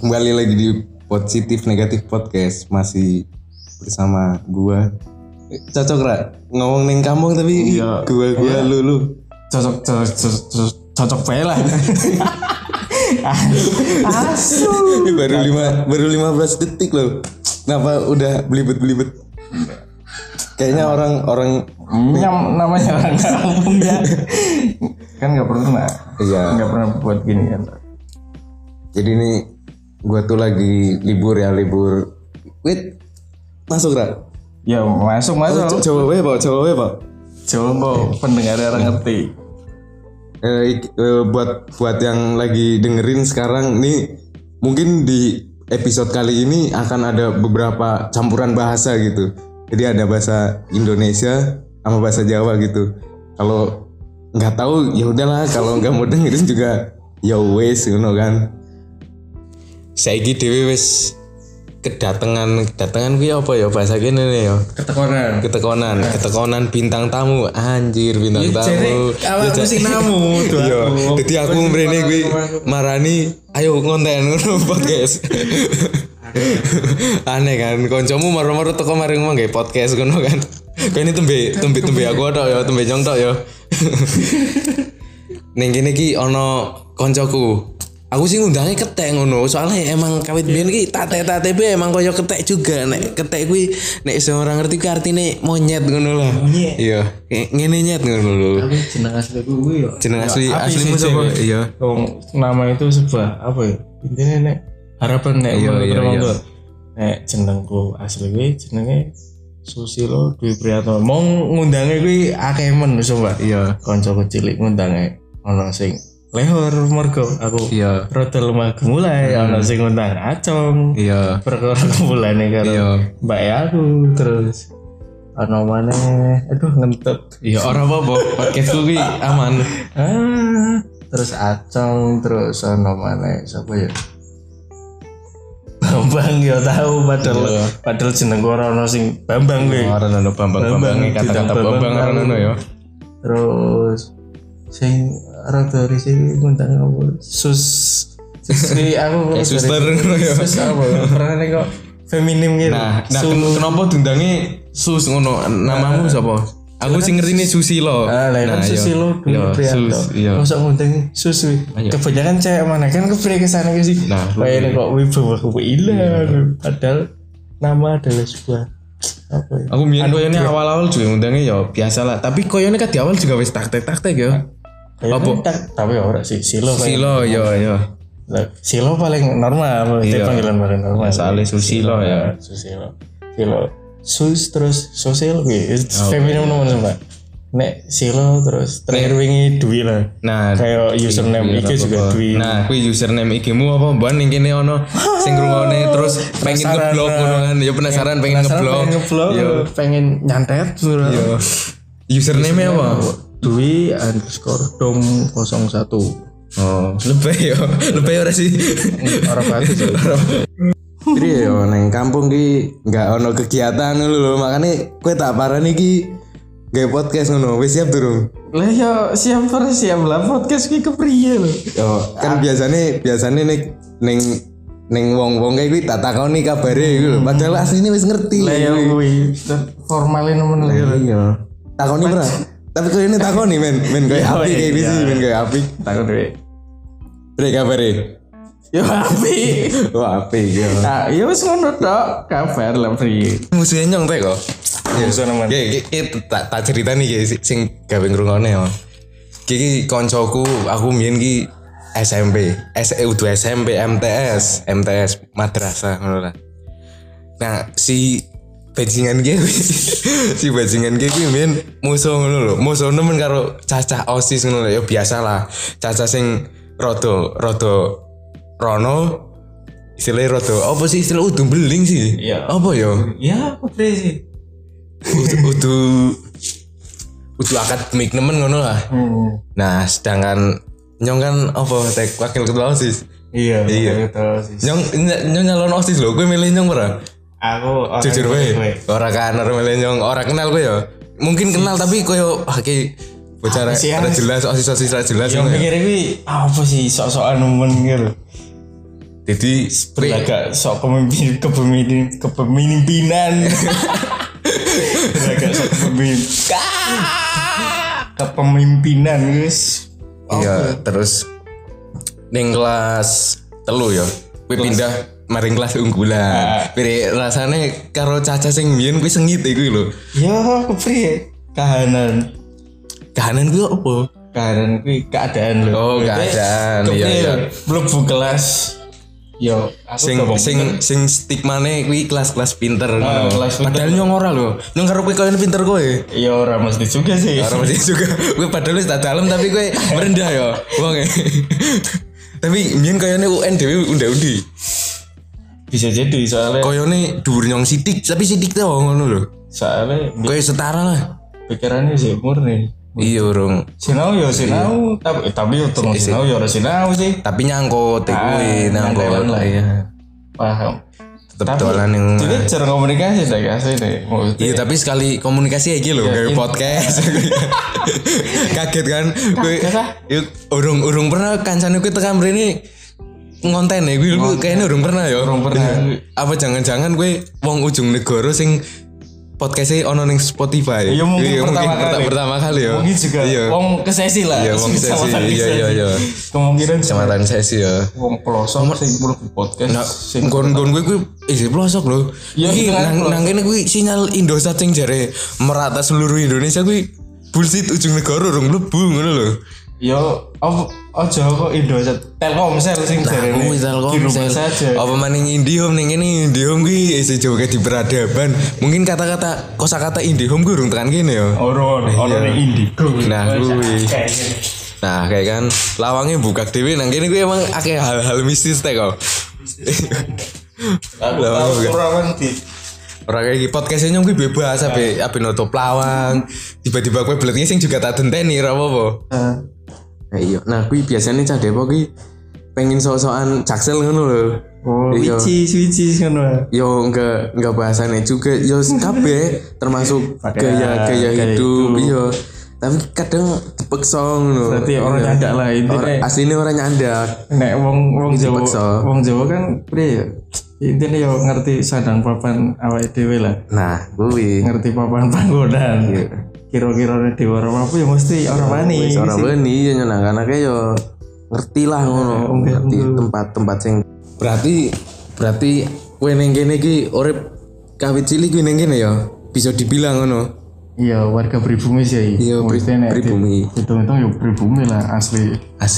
Kembali lagi di Positif Negatif Podcast. Masih bersama gua. Cocok Ra? Ngomong ning kampung tapi iya, gua lu. Cocok bae lah. Asu. Baru 15 detik loh. Kenapa udah belibet-belibet? Kayaknya orang namanya orang kampung ya. Kan enggak pernah. Iya. Enggak pernah buat gini kan. Jadi nih gua tuh lagi libur. Wait. Masuk Ra? Ya masuk. Coba wae, Pak. Coba pendengar orang ngerti. Buat yang lagi dengerin sekarang nih, mungkin di episode kali ini akan ada beberapa campuran bahasa gitu. Jadi ada bahasa Indonesia sama bahasa Jawa gitu. Kalau nggak tahu ya udahlah, kalau nggak mau dengerin juga ya wes ngono kan. Saiki dhewe wis kedatangan kuwi apa ya bahasa kene ya? Ketekonan bintang tamu. Anjir, bintang tamu. Awak sing namu tuh. Iya. Dadi aku mrene kuwi marani ayo ngonten ngono podcast. Aneh kan, kancamu maro-maro teko mari ngomong gawe podcast ngono kan. Kene tembe aku tok ya, tembe nyong tok ya. Ning kene iki ana kancaku. Aku sih ngundangnya ketek ngono, soalnya emang kawit biyen ki tate-tate emang koyo ketek juga. Nek ketek kuwi nek seorang ngerti ku artine monyet ngono lah. Iya, ngene nyet ngono lho. Tapi jeneng asli kuwi yo. Jeneng aslimu sapa? Iya. Nama itu sebuah apa ya? Intine nek harapan nek iya. Nek jenengku asli kuwi jenenge Susilo Dwi Priyato. Mong ngundange kuwi akeh men coba. Iya. Kanca cilik ngundange ana sing lehor mergo aku iya rada lemah gemulai ana sing ngundang acong iya perkara gemulane karo mbak aku terus ana maneh aduh ngentut iya ora apa-apa podcastku ki aman terus acong terus ana maneh sapa ya Bambang ya tahu padahal jeneng ora ana sing Bambang kuwi ora ana Bambang kata-kata Bambang ora ono ya terus sing rada risih ngundang aku Susri aku suster ngono ya. Sus apa pernah nek kok feminim gitu. Nah kenapa diundange Sus ngono? Namamu sapa? Aku sing ngertine Susilo. Nah, Susilo Dwi Priyato. Mosok ngundang Sus kuwi. Kebanyakan cewek mana kan kepriye kesana ke sih. Kayak kok wibawa kewilan padahal nama adalah sebuah apa ya? Aku mbiyen koyone awal-awal juga ngundangnya ya biasa lah. Tapi koyone kan di awal juga wis taktek ya. Apa? Tapi ora sih Silo ya. Silo paling normal, itu panggilan paling normal. Soalnya Susilo ya. Susilo. Sus terus sosial kuwi feminim nomor Mbak. Nek Silo terus terakhir wingi Dwi lah. Nah, kayak username iki juga Dwi. Nah, kuwi username iki-mu apa mban ning kene ono sing ngrungokne terus pengen ngeblok ngono kan. Ya penasaran pengen ngeblok. Ya pengen nyantet. Yo. Username apa? Dwi_dom01. Oh, lebih ora sih. Ora bagus sih. Jadi yo neng kampung ki enggak ono kegiatan lho, makane kowe tak parani ki gawe podcast ngono. Wis siap durung? Lah yo siap lah podcast ki kepriye lho. Yo kan biasane ning wong-wong kayak kuwi tak takoni kabare iku lho. Padahal asline wis ngerti. Lah yo kuwi formalin nemen lho. Iya. Takoni ora? Tapi kok ini takoni men kayak api kayak gitu men kayak api. Takon dhewe. Brek kabare. Yo api. Wah api yo. Nah, yo wis ngono tok, kabar lah priye. Musuhnya nyong teh kok. Ya musuh nemen. Tak ceritani iki sing gawe ngrungokne yo. Iki koncoku aku mbiyen ki SMP, udah SMP MTS madrasah ngono lah. Nah, si bajingan kuwi men musuh ngono lho. Musuh nemen karo cacah OSIS ngono lho. Ya biasa lah. Cacah sing rada rono istilahnya rada apa sih istilah udu beling sih? Iya. Apa ya? Ya apa sih? Udu akademik nemen ngono lah. Nah, sedangkan nyong kan apa tek wakil ketua OSIS. Iya. Ketua OSIS. Nyong nyalon OSIS lho. Kowe milih nyong ora? Aku jujur wae. Ora kan ora milih ora kenal kowe ya. Mungkin kenal tapi koyo ki bocah ora jelas, osis ora jelas. Yang pikir kuwi apa sih sok-sokan nemen gitu. Jadi agak sok kepemimpinan. Agak sok kepemimpinan guys. Iya, terus ning kelas 3 ya. Kuwi pindah maring kelas unggulan. Pire rasane karo Caca sing mbiyen kuwi sengit iku lho. Ya, kepriye? Kahanan kuwi apa? Kahanan kuwi keadaan lho. Oh, keadaan. Iya. Mlebu kelas. Yo, sing stigmane kuwi kelas-kelas pinter ngono. Padahal pinter. nyong ora lho. Nyong karo kowe koyo pinter kowe. Ya ora mesti juga sih. Ora mesti juga. Kowe padahal wis tak dalem tapi kowe merendah ya. Wong. Tapi mien koyone UN dhewe unda-undi. Bisa jadi soalnya koyone dhuwur nyong sithik, tapi sithik to ngono lho. Soalnya kowe setara lah. Pikirannya sih murni. Iya urung. Sinau tapi untung sinau ya ora sinau sih. Tapi nyangkut kuwi nyangkut lah ya. Paham. Tetep dolan yang jadi cara komunikasi dah asli deh. Iya tapi sekali komunikasi iki lho kayak podcast. Kaget kan? Kowe urung pernah kancane kowe tekan mrene ngonten ya gue kayaknya urung pernah ya. Urung pernah. Apa jangan-jangan gue wong ujung negara sing podcastnya ono ning Spotify. Iya mungkin pertama kali ya. Mungkin juga wong kesesi lah. Iya wong kesesi. Iya. Kemungkinan kecamatan sesi ya. Wong pelosok sing mlebu podcast. Nah, gon gue isi pelosok lho. Iki nang kene kuwi sinyal Indosat sing jare merata seluruh Indonesia kuwi bullshit ujung negara urung mlebu ngono lho. Yo aja kok Indosat Telkomsel sing jarene Telkomsel saja. Apa maning Indihome ning kene Indihome kuwi isih joget di peradaban. Mungkin kata-kata kosakata Indihome kuwi urung tekan kene ya. Ono ning Indigo. Nah kuwi. Nah kayak kan lawangnya buka dhewe nang kene kuwi emang akeh hal-hal mistis teh kok. Kurang di orang kayak podcastnya nyong gue bebas abe nutup lawang tiba-tiba gue beletnya sing juga tak denteni ra apa-apa. Iya, nah gue biasanya cah Depok gue pengen sok-sokan Jaksel ngono lho. Oh, wici ngono. Yo enggak bahasannya juga, yo kabeh termasuk gaya hidup, iya. Tapi kadang dipaksa ngono. Berarti orang nyandak lah intine. Asline orang nyandak. Nek wong Jawa kan priye ya? Intine yo ngerti sadang papan awake dhewe lah. Nah, kuwi ngerti papan panggonan. Kira-kira di warung apa ya mesti orang wani. Orang wani ya nyenang anake yo ngerti lah ngono. Ngerti tempat-tempat sing berarti kowe ning kene iki urip kawit cilik kowe ning kene ya. Bisa dibilang ngono. Iya, warga pribumi sih. Iya, pribumi. Hitung-hitung ya pribumi lah asli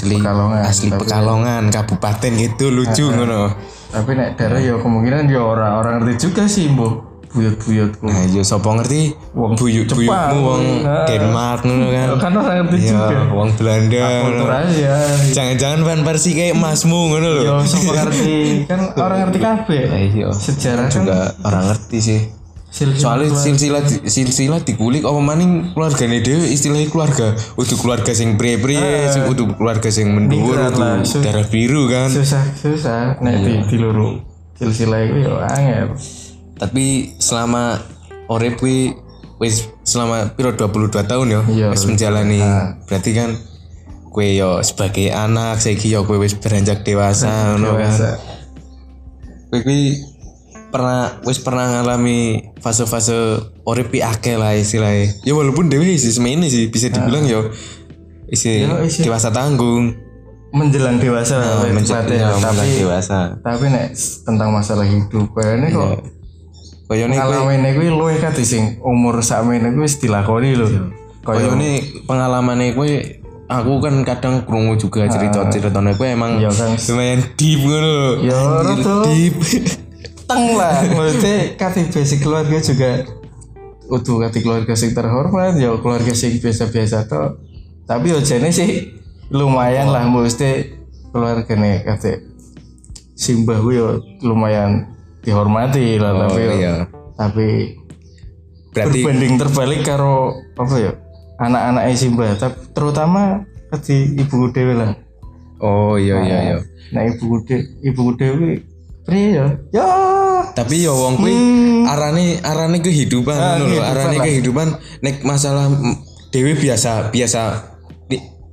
Pekalongan Kabupaten gitu lucu ngono. Tapi nek daerah ya kemungkinan ya orang ngerti juga sih, Mbok. Buyut-buyutku. Nah, yo sapa ngerti wong buyutmu wong Denmark ngono kan. Kan orang ngerti juga. Wong Belanda. Ya. Jangan-jangan Van Persie kayak masmu ngono lho. Yo sapa ngerti. Kan orang ngerti kabeh. Iya. Sejarah juga orang ngerti sih. Soalnya silsilah dikulik apa maning keluargane dhewe istilahnya keluarga udah keluarga sing priye-priye sing udah keluarga sing mendhuwur darah biru kan susah nek diluru silsilah iku yo angel. Tapi selama urip kuwi wis selama piro 22 tahun ya wis menjalani berarti kan kowe yo sebagai anak saiki yo kowe wis beranjak dewasa ngono kan. Kowe kuwi pernah ngalami fase-fase urip akeh lah istilahnya. Ya walaupun dhewe isi semene sih bisa dibilang yo isi dewasa tanggung. Menjelang dewasa tapi dewasa. Tapi nek tentang masalah hidup kayaknya kok pengalaman kuwi luwih kate sing umur sakmene kuwi wis dilakoni lho. Koyone pengalamane kuwi aku kan kadang krungu juga cerita-ceritane kuwi emang lumayan deep ngono. Ya deep. Teng lah, maksudnya kate basic keluarga juga utuh kate keluarga sing terhormat, ya keluarga sing biasa-biasa toh. Tapi yo jane sih lumayan lah mesti keluargane kate simbah kuwi yo lumayan dihormati lah tapi berarti berbanding terbalik karo apa ya anak-anak simbah terutama kate ibu dhewe lah. Oh iya. Nah ibu dhewe priye ya tapi ya wong kuwi arane kehidupan ngono lho arane kehidupan nek masalah dhewe biasa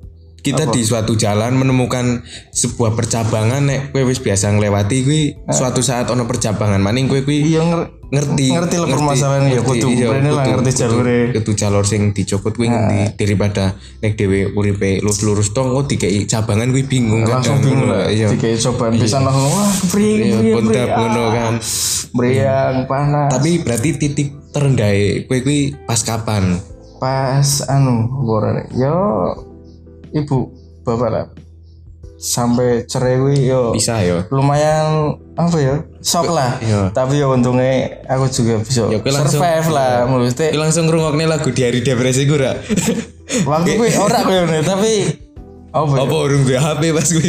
kita di suatu jalan menemukan sebuah percabangan nek kowe wis biasa nglewati kuwi suatu saat ono percabangan maning kowe kuwi ngerti lah permasalahan ya kudu rene lah ngerti jalure kudu jalur sing dicopot kuwi ngendi daripada nek dhewe uripe lurus tong kok dikeki cabangan kuwi bingung langsung bingung lah dikeki cobaan pisan langsung wah kepriye ngono kan meriang panas tapi berarti titik terendah kowe kuwi pas kapan pas borane yo ibu bapak lah sampai cerai gue yo bisa yo lumayan apa ya shock lah tapi yo untungnya aku juga bisa survive lah maksudnya langsung ngrungokne lagu di hari depresi gue ra waktu gue ora gue tapi apa urung gue HP pas gue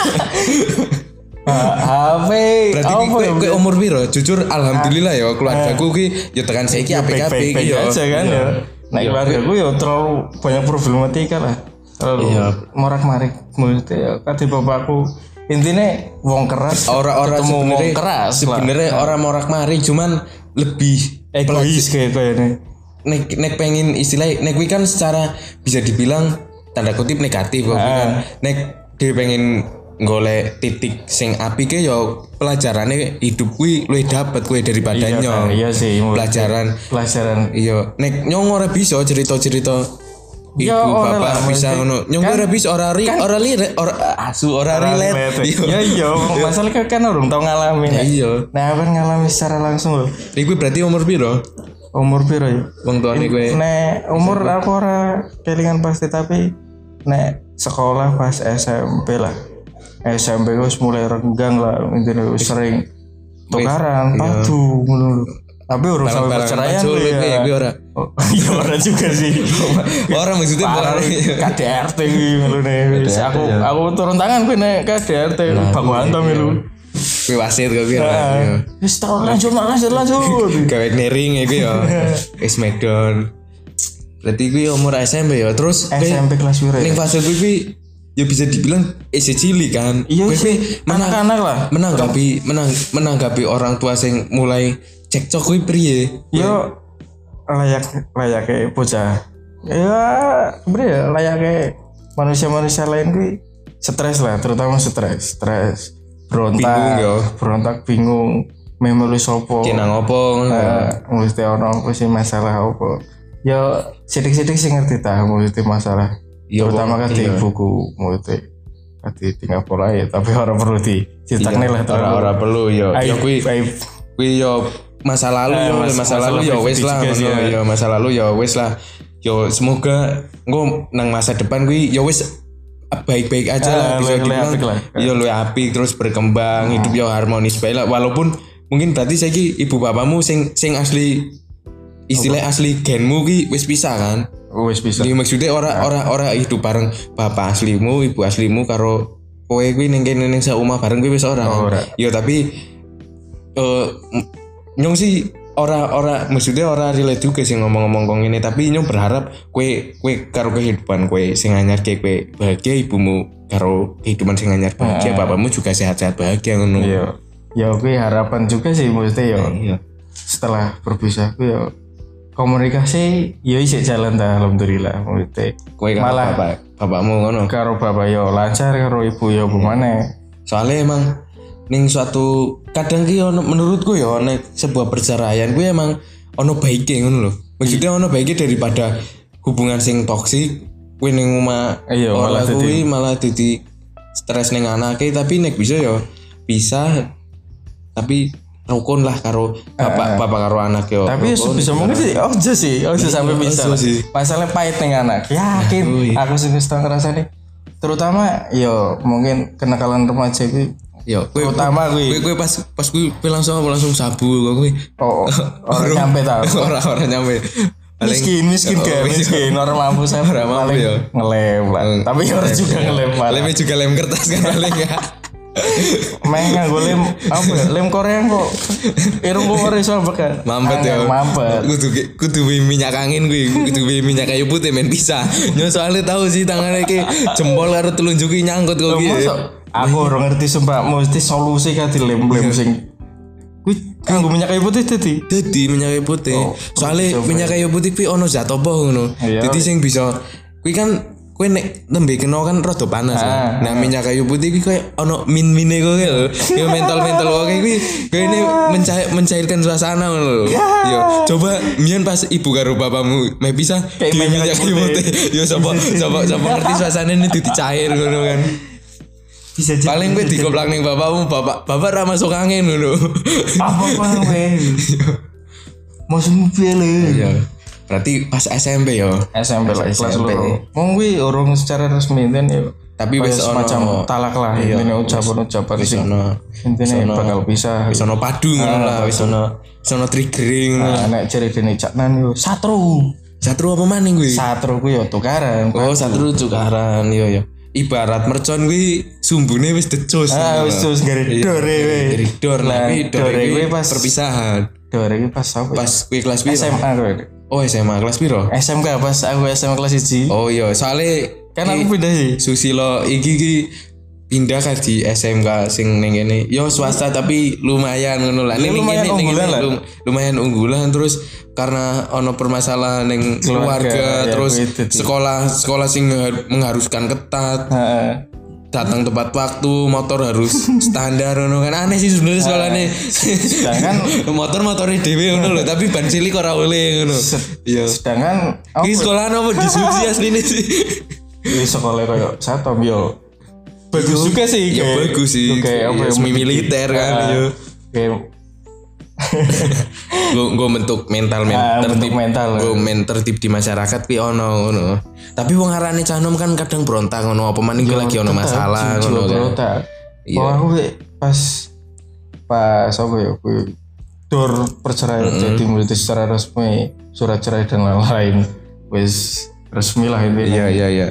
HP berarti gue umur piro jujur alhamdulillah ya keluargaku ki yo tekan saiki apik-apik yo aja kan ya nah keluargaku yo terlalu banyak problematika lah morak-marik maksudnya ya kata bapakku intinya wong keras orang sebenarnya keras sebenarnya orang morak-marik cuman lebih egois kayaknya nek pengen istilah nek kuwi kan secara bisa dibilang tanda kutip negatif kok kan nek dia pengen golek titik sing apik ya pelajarannya hidup kuwi luwih dapet kuwi daripada nyong iya sih pelajaran iya nek nyong ora bisa cerita-cerita Ibu bapak bisa ngono. Nyong ora bisa ora relate. Iya, masalah kan urung tau ngalamin. Iya. Nah, kan ngalami secara langsung lho. Iku berarti umur piro? Umur piro ya? Wong tuane kowe. Nek umur aku ora kelingan pasti tapi nek sekolah pas SMP lah. SMP wis mulai renggang lah, intine wis sering tukaran, padu ngono. Tapi urus sampai perceraian ya. Ora. Iya ora juga sih. Orang maksudnya KDRT ngelune. Aku turun tangan kowe nek KDRT Bang Hantam lu. Kowe wasit kok kira. Wis lanjut. Gawe nering iku ya. Wis Smackdown. Berarti kuwi umur SMP ya. Terus SMP kelas piro ya? Ning fase kuwi ya bisa dibilang cilik kan. Iya sih. Anak-anak lah. Menanggapi orang tua sing mulai cekcok kuwi priye? Yo layaknya bocah. Ya sebenarnya layaknya manusia-manusia lain kuwi stres lah, terutama stres, berontak bingung, memori sopo. Kenang opo? Mesti ono sih masalah opo. Ya sidik-sidik sih ngerti ta mesti masalah. Terutama kan di buku mesti tinggal pola ya, tapi orang perlu dicetakne lah orang perlu yo. Yo kuwi yo masa lalu ya wis lah ya masa lalu ya wis lah yo semoga engko nang masa depan kuwi ya wis baik-baik aja lah bisa dibilang yo luwih apik terus berkembang hidup yo harmonis bae lah walaupun mungkin berarti saiki ibu bapakmu sing asli istilah asli genmu ki wis pisah kan wis pisah maksudnya ora hidup bareng bapak aslimu ibu aslimu karo kowe kuwi ning kene ning saomah bareng kuwi wis ora yo tapi nyong sih ora maksudnya ora relate juga sih ngomong-ngomong kong ini tapi nyong berharap kue karo kehidupan kue sing anyar kue bahagia ibumu karo kehidupan sing anyar bahagia bapakmu juga sehat-sehat bahagia ngono. Iya. Ya kue harapan juga sih maksudnya ya. Setelah berpisah kue ya komunikasi ya isih jalan dah alhamdulillah maksudnya. Kue malah bapakmu ngono. Karo bapak yo lancar karo ibu yo gimana? Soalnya emang ning suatu kadang ki ono menurutku ya nek sebuah perceraian kuwi emang ono baike ngono lho. Maksudnya ono baike daripada hubungan sing toksik kuwi ning omah malah dadi stres ning anake tapi nek bisa ya bisa tapi rukun lah karo bapak karo anak yo. Tapi bisa mungkin sih ojo sampai bisa. Masalah pahit ning anak. Yakin aku sing wis tau ngrasane. Terutama yo mungkin kenakalan remaja kuwi yo, utama gue pas gue langsung sabu gue. Orang nyampe tau. Orang nyampe. Miskin orang mampu saya paling ngelem lah. Tapi orang juga ngelem. Lemnya juga lem kertas kan paling ya. Mengah gue lem apa ya? Lem Korea kok. Irung gue orang iso bekan. Mampet ya. Mampet. Kudu minyak angin gue. Kudu minyak kayu putih men bisa. Nyo soalnya tahu sih tangannya ki jempol karo telunjuki nyangkut kok gitu. Aku ora ngerti sumpah mesti solusi kan dilem sing kuwi kanggo minyak kayu putih dadi minyak kayu putih. Soale minyak kayu putih kuwi ono zat apa ngono. Dadi sing bisa kuwi kan kowe nek nembe kena kan rada panas. Nah minyak kayu putih iki koyo ono min-mine kowe lho. Yo mental-mental kowe iki kene mencairkan suasana ngono lho. Yo coba mien pas ibu karo bapakmu meh pisah di minyak kayu putih. Yo sapa ngerti suasanane dicair ngono kan. Bisa jadi. Paling kowe dikoplak ning bapakmu, bapak ra masuk angin ngono. Apa kowe? Masuk piye lho. Iya. Berarti pas SMP yo. SMP lah kelas loro. Wong kuwi urung secara resmi kan ya. Tapi wis semacam talak lah intine ucapan-ucapan sing intine bakal pisah. Wis ono padu ngono lah, wis ono triggering. Nah, nek jare dene Caknan yo satru. Satru apa maning kuwi? Satru kuwi yo tukaran. Oh, satru tukaran yo. Ibarat mercon kuwi sumbune wis decus. Wis decus garidore we. Garidor tapi dore kuwi pas perpisahan. Dore kuwi pas apa? Pas kuwi kelas piro? SMA kuwi. Oh SMA kelas piro? SMK pas aku SMA kelas 1. Oh iya, soalnya kan aku pindah sih. Susilo iki pindah kan di SMK sing ning kene. Yo swasta tapi lumayan ngono lah. Ning lumayan unggulan terus karena ono permasalahan ning keluarga terus sekolah sing mengharuskan ketat. Datang tepat waktu, motor harus standar ngono kan aneh sih sebenarnya sekolahnya. Sedangkan motornya dhewe ngono lho, tapi ban cilik ora oleh ngono. Iya. Sedangkan iki sekolahan apa disubsidi asline sih. Iki sekolah koyo Satom yo. Bagus juga sih. Ya bagus sih. Kayak apa semi militer kan yo. Gue bentuk mental tertib di masyarakat pi ono ngono. Tapi wong arane canom kan kadang berontak ngono apa maning lagi ono masalah ngono kan. Iya. Aku pas apa ya kuwi dor perceraian jadi mulai secara resmi surat cerai dan lain-lain wis resmi lah ini. Iya.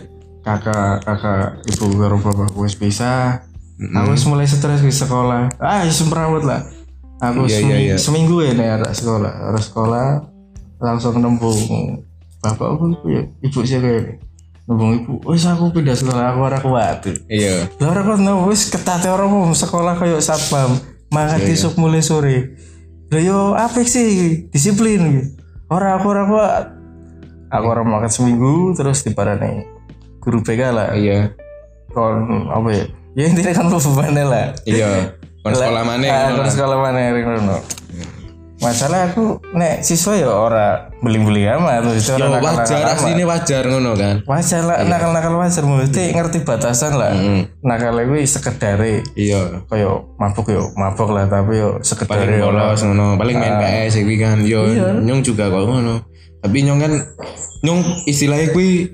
Kakak ibu karo bapak wis pisah. Aku wis mulai stres di sekolah. Wis merawat lah. Aku seminggu ya nih harus sekolah langsung nembung bapak aku ya ibu sih kayak nembung ibu wis aku pindah sekolah aku ora kuat. Iya. Lah ora kuat wis ketate ora mau sekolah kayak satpam mangkat isuk mulai sore. Lah yo apik sih disiplin ora kuat. Aku ora makan seminggu terus diparani guru BK lah. Iya. Kon apa ya? Ya intinya kan bebannya lah. Iya. Kon sekolah mana? Kon sekolah mana ngono. Masalah aku nek siswa ya ora beli-beli amat itu ora wajar asline wajar ngono kan. Wajar lah nakal-nakal wajar mesti ngerti batasan lah. Nakal kuwi sekedare. Iya. Kayak mabuk lah tapi yo sekedare ora ngono. Paling main PS iki kan yo nyong juga kok ngono. Tapi nyong kan istilahnya kuwi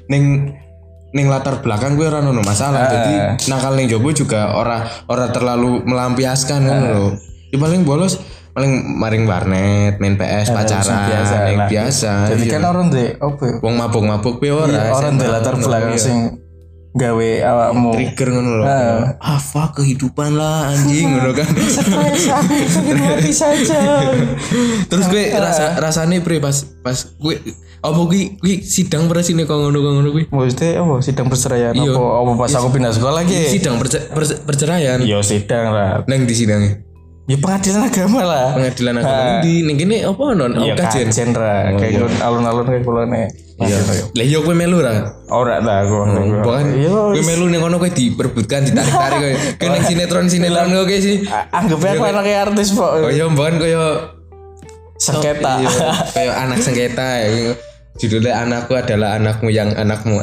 ning latar belakang gue ora ono masalah. Jadi nakal ning jowo juga ora terlalu melampiaskan ngono lho. Ya paling bolos paling maring warnet, main PS, pacaran, yang biasa. Jadi kan orang ndek opo? Wong mabuk-mabuk pe ora. Orang ndek latar belakang sing gawe awakmu trigger ngono lho. Fuck kehidupan lah anjing ngono kan. Stres aku sakit hati saja. Terus gue rasane pre pas gue apa kuwi sidang presine kok ngono kuwi. Maksudnya apa sidang perceraian apa pas aku pindah sekolah lagi. Sidang perceraian. Iya sidang lah. Nang di sidangnya. Ya pengadilan agama lah. Pengadilan agama di ning kene apa non? Iya kajen ra. Kayak alun-alun kayak kulone. Iya. Lah yo kowe melu ra? Ora ta aku. Bukan. Kowe melu ning kono kowe diperbutkan ditarik-tarik kowe. Kowe ning sinetron kowe sih. Anggap aku anak artis kok. Oh iya mbon koyo sengketa. Kayak anak sengketa ya. Judulnya anakku adalah anakmu yang anakmu.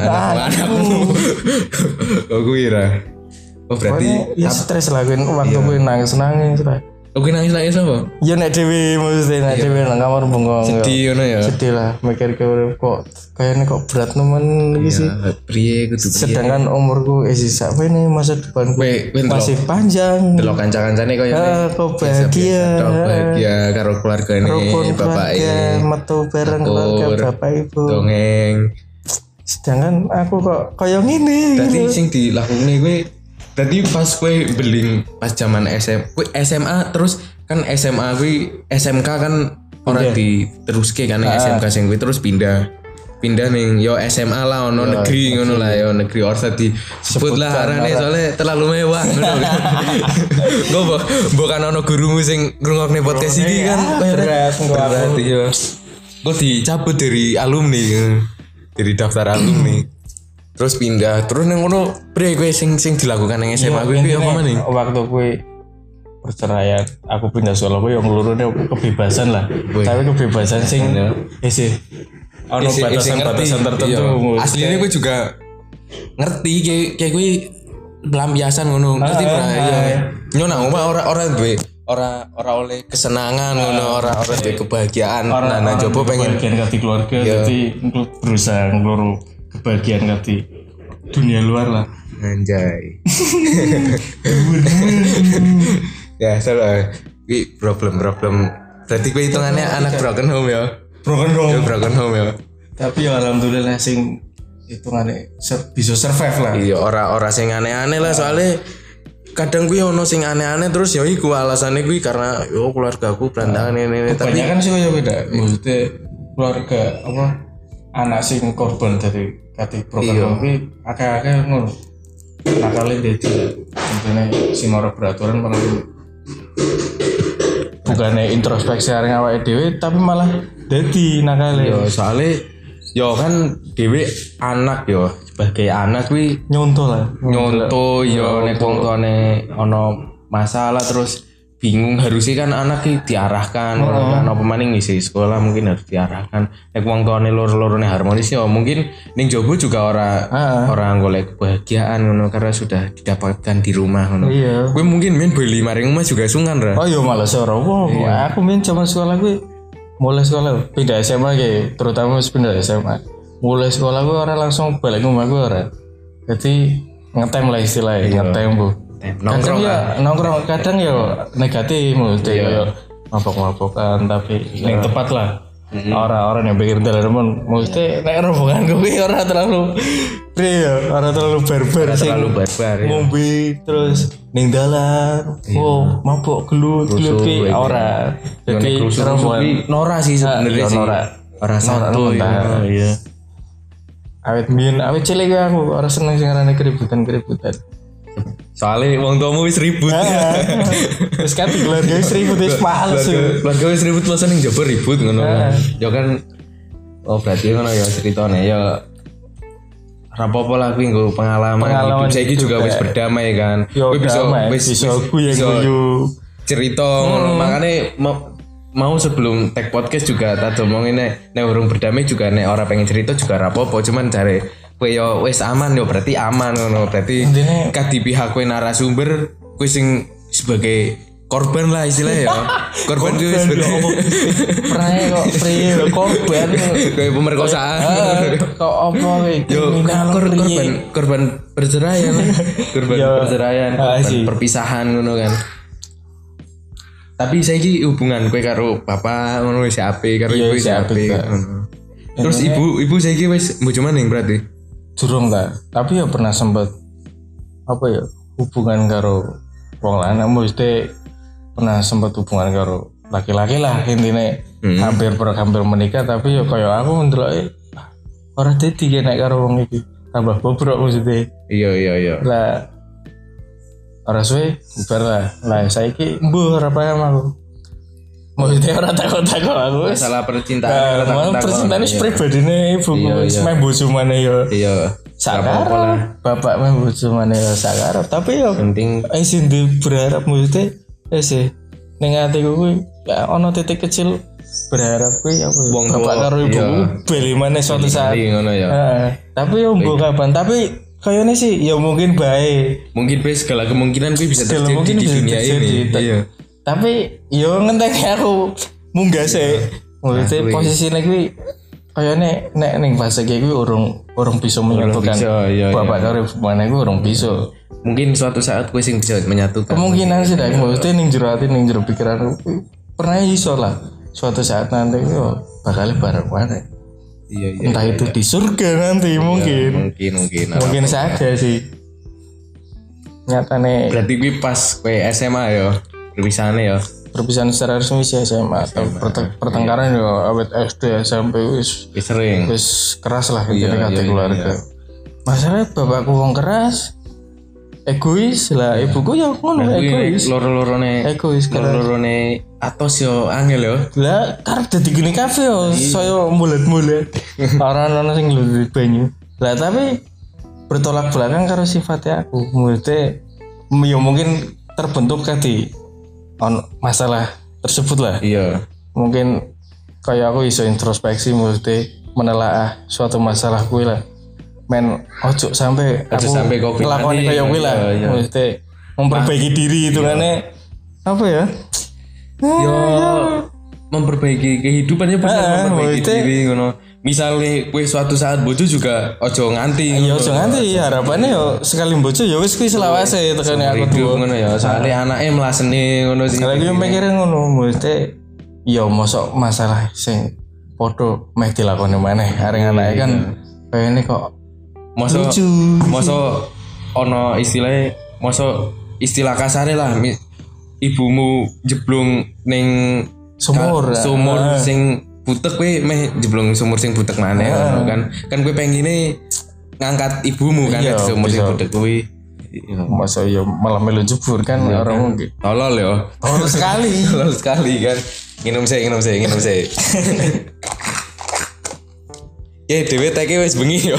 Oh kuwi ra. Oh berarti ya stres lah waktu gue nangis lah. Oke nangis apa? Ya nek dhewe maksudnya nek dhewe nang kamar bengong. Sedih ngono ya. Sedih lah mikir kok kayaknya kok berat nemen iki sih. Priye kudu priye. Sedangkan umurku sisa ini masa depanku masih panjang. Delok kanca-kancane koyo kok bahagia karo keluargane bapake. Metu bareng keluarga bapak ibu. Dongeng. Sedangkan aku kok koyo ngene. Dadi sing dilakoni kowe tadi pas gue beling pas zaman SMA terus kan SMA gue SMK kan orang diteruske kan SMK sing gue terus pindah ning yo SMA lah ono negeri ngono lah yo negeri ora disebut lah arane soalnya terlalu mewah ngono kan. Gue kan ono gurumu sing ngrungokne podcast iki kan berat yo. Gue dicabut dari alumni dari daftar alumni. Terus pindah, terus nang ngono bre kowe sing dilakukan nang SMA kowe apa maning? Waktu kowe perceraian, aku pindah sekolah kowe yang nglurune kebebasan lah. Tapi kebebasan sing isih ono batasan-batasan tertentu. Aslinya kowe juga ngerti kayak kowe pelampiasan ngono, ngerti ora? Iya. Nyono ora duwe ora oleh kesenangan ngono, ora duwe kebahagiaan. Nah coba pengen kebahagiaan kati keluarga, jadi berusaha ngeluru kebahagiaan kati dunia luar lah. Anjay. Ya salah. Ini problem. Berarti kowe hitungannya anak broken home ya. Broken home ya. Tapi ya alhamdulillah sing hitungannya bisa survive lah. Iya, ora sing aneh-aneh lah soalnya kadang gue ono sing aneh-aneh terus ya iku alasannya gue karena yo keluargaku berantakan ini tapi kan sih kayak beda. Maksudnya keluarga apa anak sing korban dari kati program kuwi akeh-akeh ngono. Nakale dadi intine sing ora beraturan malah bukannya introspeksi areng awake dhewe tapi malah dadi nakale. Yo soalnya yo kan dhewe anak yo sebagai anak kuwi nyonto yo nek wong tuane ono masalah terus bingung harusnya kan anak ki diarahkan kan apa maning ngisi sekolah mungkin harus diarahkan nek wong tuane loro-lorone harmonis yo mungkin ning jowo juga ora golek kebahagiaan ngono karena sudah didapatkan di rumah ngono. Iya. Kowe mungkin main beli maring rumah juga sungan ra. Oh iya malah ora apa. Aku main zaman sekolah gue mulai sekolah pindah SMA kayak terutama pindah SMA mulai sekolah gue orang langsung balik rumah gue orang jadi ngetem lah istilahnya ngetem bu nongkrong kadang ya negatif mesti ya mabok-mabokan tapi yang tepat lah orang-orang yang pikir dalam mesti nek rombongan gue orang terlalu barbar ngombe terus ning dalan mabok gelut ki ora jadi rombongan Nora sih sebenarnya sih ora satu ya awet cilik aku ora seneng sing arane keributan soalnya wong tuamu wis ribut wis kan keluarga wis ribut wis males keluarga wis ribut terus ning jaba ribut ngono ya kan berarti ngono ya ceritane ya rapopo lah kuwi nggo pengalaman hidup saiki juga wis berdamai kan kowe bisa guyu cerita ngono makane mau sebelum tag podcast juga tak omongin nek urung berdamai juga nek ora pengen cerita juga rapopo cuman jare kowe yo wis aman yo berarti aman ngono berarti ka di pihak kowe narasumber kowe sing sebagai korban lah istilahnya ya korban itu sebagai korban kayak pemerkosaan kok apa korban perceraian perceraian perpisahan ngono kan tapi saiki hubungan kowe karo bapak ngono wis apik karo ibu wis apik ngono terus ibu saiki wis bojo maning berarti durung ta tapi ya pernah sempet apa ya hubungan karo wong lanang mesti pernah sempet hubungan karo laki-laki lah intine hampir menikah tapi ya kaya aku ndeloke ora dadi nek karo wong iki tambah bobrok maksudnya iya lah ora suwe bubar lah saiki mbuh ora paham aku maksudnya ora takut-takut aku masalah percintaan percintaan wis pribadine ibuku wis meh bojo maneh ya iya sakar bapak meh bojo maneh ya sakar tapi ya penting sing berharap maksudnya sih ning atiku kuwi ya ana titik kecil berharap kuwi apa bapak karo ibuku bali maneh suatu saat ngono ya tapi yo mbok kapan tapi kayaknya sih ya mungkin baik mungkin segala kemungkinan kuwi bisa terjadi di dunia ini iya tapi yo ngenteni aku munggah sih maksudnya posisinya kuwi kayaknya nek ning fase kuwi urung bisa menyatukan bapak karo ibu maneh kuwi urung bisa mungkin suatu saat gue sing bisa menyatukan kemungkinan sih dah maksudnya ning jero ati ning jero pikiran pernah iso lah suatu saat nanti yo bakal bareng maneh iya entah itu di surga nanti mungkin saja sih nyatane berarti gue pas gue SMA ya perpisahan secara resmi sih SMA pertengkaran yo awet SD SMP wis sering wis keras lah intine kate keluarga masalah bapakku wong keras egois lah ibuku ya ngono egois loro-lorone atos yo angel yo lah karep dadi gini kafe yo saya mulet-mulet ora ono sing ngluri banyu lah tapi bertolak belakang karo sifatnya aku. Maksudnya ya mungkin terbentuk tadi masalah tersebut lah. Iya. Mungkin kayak aku iso introspeksi maksudnya menelaah suatu masalah kuwi lah. Men ojo sampai kok ngelakoni kayak kuwi lah. Maksudnya memperbaiki diri itu kan apa ya? Yo memperbaiki kehidupannya benar memperbaiki diri ngono. Misalnya kowe suatu saat bojo juga ojo nganti. Iya ojo nganti harapannya yo sekali bojo yo wis kuwi selawase tekane aku tuh. Ngono ya. Soale anake mlasene ngono sih. Lagi mikire ngono mesti yo mosok masalah sing padha meh dilakoni maneh areng anake kan kayane kok mosok ono istilah kasare lah ibumu jeblung ning sumur sing butek kowe meh jeblong sumur sing butek maneh kan kowe pengine ngangkat ibumu kan di sumur sing butek kowe masa ya malah melu jebur kan orang mungkin tolol ya tolol sekali kan minum sih ya dhewe teke wis bengi yo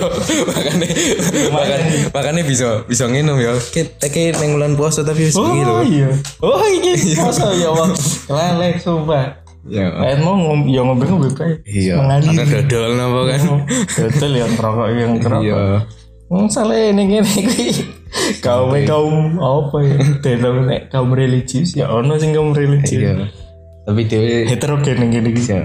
makane bisa nginum yo teke ning bulan puasa tapi wis bengi lho iki puasa ya wong lelek sumpah. Ya, mau ngombe bae. Iya. Ada dodol napa kan? Dodol yang ngerokok yang ngerokok. Iya. Sale ning kene iki. Kaum apa ya? Delok nek kaum religius ya ono sing kaum religius. Iya. Tapi dhewe heterogen ning kene iki.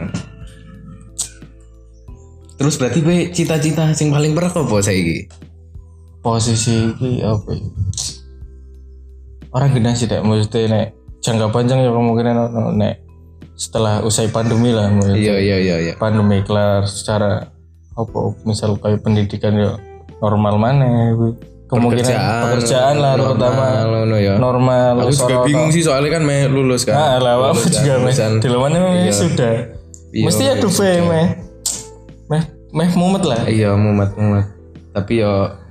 Terus berarti kowe cita-cita sing paling berat apa saiki? Posisi iki apa ya? Orang gede sih dek, maksudnya nek jangka panjang ya kemungkinan nek setelah usai pandemi lah iya pandemi kelar secara apa misal kayak pendidikan ya normal mana kemungkinan pekerjaan lah terutama normal aku juga bingung sih soalnya kan lulus kan aku juga di luarnya sudah mesti ada meh mumet lah iya mumet tapi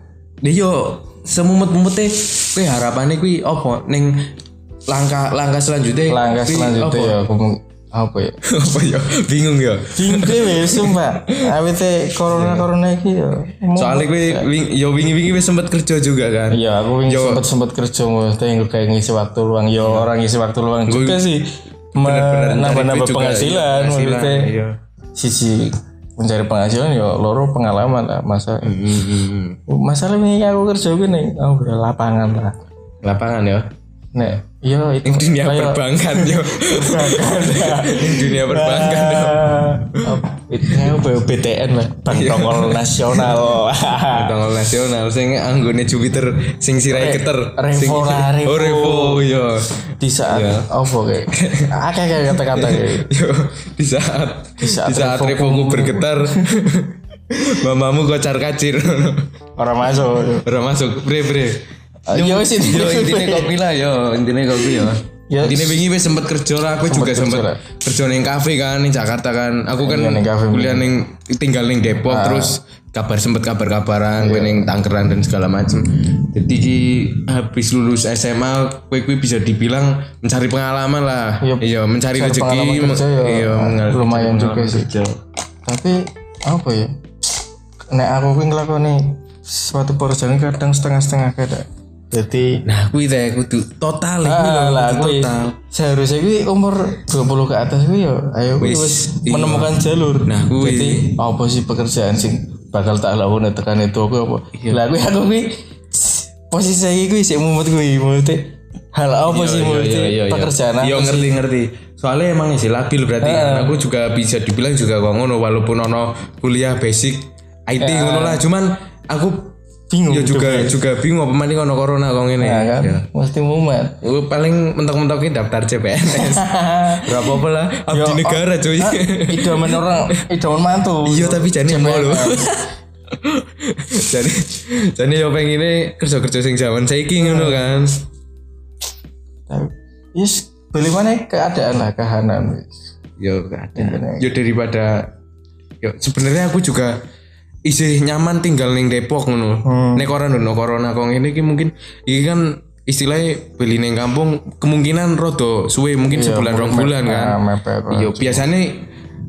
yo semumet-mumetnya kowe harapannya kowe apa ning langkah selanjutnya ya apa ya bingung dhewe sumpah awite corona iki ya soalnya gue wingi wis sempat kerja juga kan iya aku wingi sempat kerja mesti kayak ngisi waktu luang orang ngisi waktu luang juga sih nambah penghasilan maksudnya sisi mencari penghasilan ya loro pengalaman lah masalah ini aku kerja gini lapangan ya nek yo itu dunia perbankan yo dunia perbankan yo itu BTN lah Bank Tongol Nasional sing anggone Jupiter sing sirahe keter Revo yo di saat apa kayak kata-kata yo di saat Revoku bergetar mamamu kocar kacir orang masuk bre Yo intine kopi lah intine kopi ya. Intine wingi wis sempet kerja lah aku juga sempet kerja ning kafe kan ning Jakarta kan. Aku kan kuliah ning tinggal ning Depok terus kabar-kabaran kowe ning Tangerang dan segala macam. Jadi habis lulus SMA kowe bisa dibilang mencari pengalaman lah. Iya, mencari rezeki. Iya, lumayan juga sih. Tapi apa ya? Nek aku kuwi nglakoni suatu pekerjaan kadang setengah-setengah kadang. Jadi kuwi kudu total total. Seharusnya kuwi umur 20 ke atas kuwi ya ayo wis menemukan jalur. Jadi apa sih pekerjaan sing bakal tak lakoni tekan itu aku apa? Lah aku kuwi posisi saya kuwi sik mumet kuwi maksudnya hal apa sih maksudnya pekerjaan aku ngerti. Soalnya emang sih labil berarti kan. Aku juga bisa dibilang juga kok ngono walaupun ono kuliah basic IT ngono lah cuman aku bingung ya juga bingung apa maning ono corona kok ngene kan mesti mumet paling mentok-mentokin daftar CPNS berapa apa lah abdi negara cuy idaman mantu iya tapi jane mau lho jane yo pengine kerja sing zaman saiki ngono kan yes beli mana keadaan lah kahanan yo keadaan yo daripada yo sebenarnya aku juga isih nyaman tinggal ning Depok ngono. Nek corona kok ngene iki mungkin iki kan istilahnya beli ning kampung kemungkinan rada suwe mungkin sebulan 2 bulan kan. Iya biasanya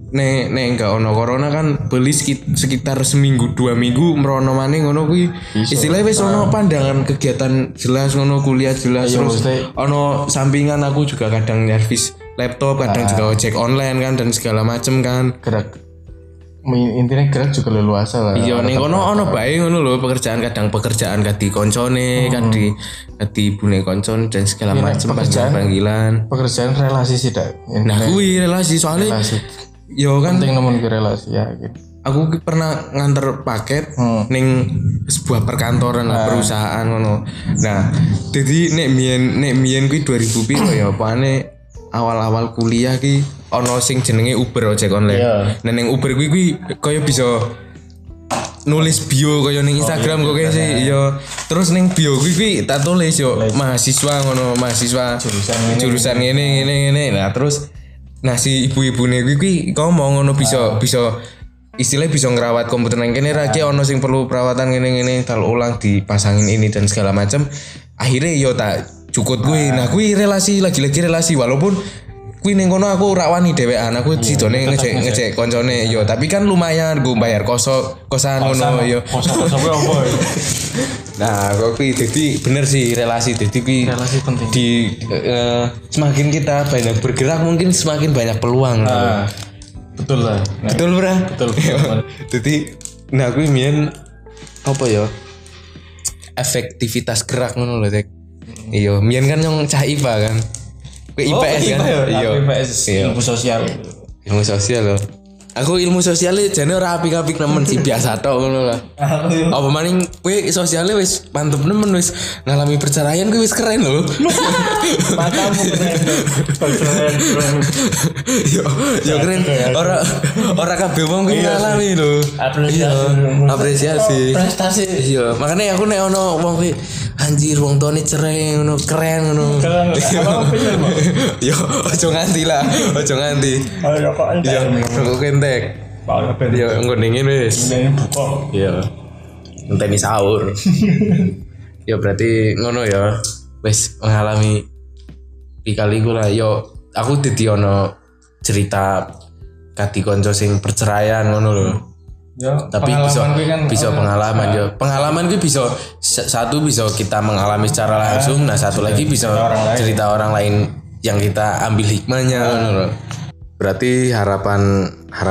nek enggak ono corona kan beli sekitar seminggu 2 minggu merono maneh ngono kuwi istilahnya wis ono pandangan kegiatan jelas ngono kuliah jelas terus ono sampingan aku juga kadang nyervis laptop kadang juga ojek online kan dan segala macem kan gerak intinya gerak juga leluasa lah iya ning ono bae ngono lho pekerjaan kadi koncone kadi ibune koncon dan segala macem panggilan pekerjaan relasi sih dak nah kuwi relasi soalnya yo kan penting nemen relasi ya gitu. Aku pernah nganter paket ning sebuah perkantoran lah perusahaan ngono. Nah, jadi nek mien kuwi 2000 piro ya apane awal-awal kuliah ki ono sing jenenge Uber ojek online. Nah ning Uber kuwi kaya bisa nulis bio kaya ning Instagram kok kayak sih iya. Terus ning bio kuwi tak tulis yo mahasiswa ngono, mahasiswa jurusan ngene. Nah, terus si ibu-ibune kuwi ngomong ngono bisa istilahnya bisa ngerawat komputer nang kene ra ono sing perlu perawatan ngene tal ulang dipasangin ini dan segala macam. Akhirnya yo tak cukut kuwi. Nah kuwi relasi lagi-lagi relasi walaupun kuwi ning kono aku ora wani dhewean. Aku sidone ngecek koncone yo tapi kan lumayan gue bayar kosan ngono yo. Kosan kuwi opo? Nah, kok kuwi dadi bener sih relasi dadi kuwi relasi penting. Semakin kita banyak bergerak mungkin semakin banyak peluang. Betul lah. Betul bro. Betul. Jadi nah kuwi mien apa ya? Efektivitas gerak ngono lho, Tek. Iya, mien kan yang cah IPA kan. IPS kan. Iya. IPS ilmu sosial. Ilmu sosial loh. Aku ilmu sosialnya jane ora apik-apik nemen sih biasa tok ngono lah. Apa maning kowe sosialnya wis mantep nemen wis ngalami perceraian kowe wis keren lho. Matamu keren. Yo keren. Ora kabeh wong kuwi ngalami lho. Apresiasi. Prestasi. Iya, makanya aku nek ono wong kuwi anjir wong tuane cerai ngono keren ngono. Yo ojo nganti lah, ojo nganti. Ayo kok entek. Rokok entek. Yo engko dingin wis. Buka. Iya. Ngenteni sahur. Ya berarti ngono ya. Wis mengalami pikaliku lah yo aku dadi ono cerita kadi kanca sing perceraian ngono lho. Ya, tapi bisa pengalaman yo. Pengalaman gue bisa satu bisa kita mengalami secara langsung, nah satu lagi bisa cerita orang lain yang kita ambil hikmahnya ngono. Berarti harapan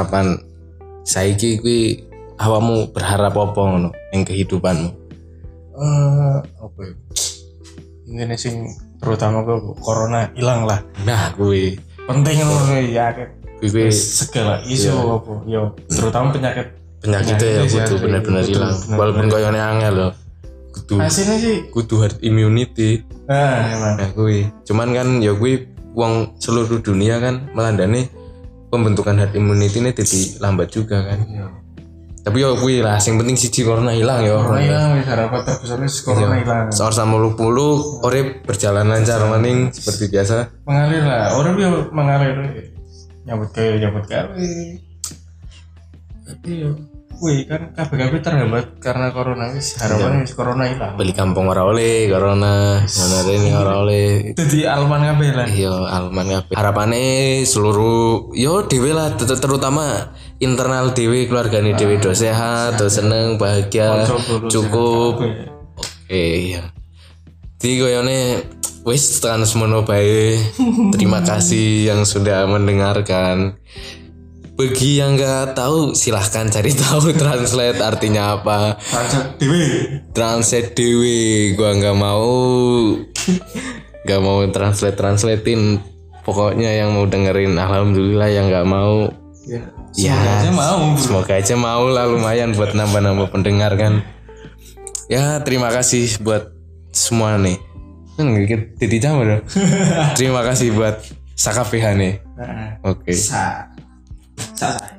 saiki kuwi awakmu berharap apa ngono ing kehidupanmu? Apa ya? Ini sing terutama ke corona hilang lah. Nah, kuwi penting ngono ya. Kuwi segala isu apa yo terutama penyakit ya kudu bener-bener hilang. Walaupun koyone angel loh. Hasilnya sih kudu herd immunity. Emang. Nah, kuwi. Cuman kan ya kuwi wong seluruh dunia kan melandani pembentukan herd immunity ini jadi lambat juga kan. Iya. Tapi ya kuwi lah sing penting siji corona hilang ya. Corona hilang harapan terbesarnya corona hilang. Seorang muluk-muluk urip berjalan lancar maning seperti biasa. Mengalir lah. Orang yo mengalir. Nyambut gawe. Iya. Wih kan kabeh terhambat karena corona wis harapannya wis corona hilang. Beli kampung ora oleh corona, ana rene ora oleh. Dadi alman kabeh lah. Iya, alman kabeh. Harapane seluruh yo dhewe lah terutama internal dhewe keluargane dhewe do sehat, do seneng, bahagia, cukup. Oke, iya. Di koyone wis tekan semono bae. Terima kasih yang sudah mendengarkan. Bagi yang nggak tahu silahkan cari tahu translate artinya apa. Translate dewe. Gua nggak mau translatein. Pokoknya yang mau dengerin alhamdulillah, yang nggak mau semoga aja mau lah, lumayan buat nambah pendengar kan. Ya terima kasih buat semua nih. Jadi jam dong. Terima kasih buat Sakapeha nih. Oke.